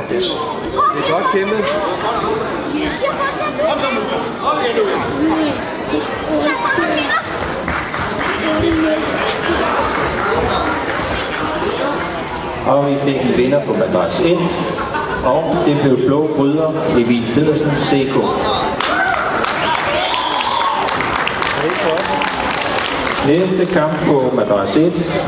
Det er godt kæmpet. Og vi fik en vinder på madras 1, og det blev blå bryder Emil Pedersen, CK. Næste kamp på madras 1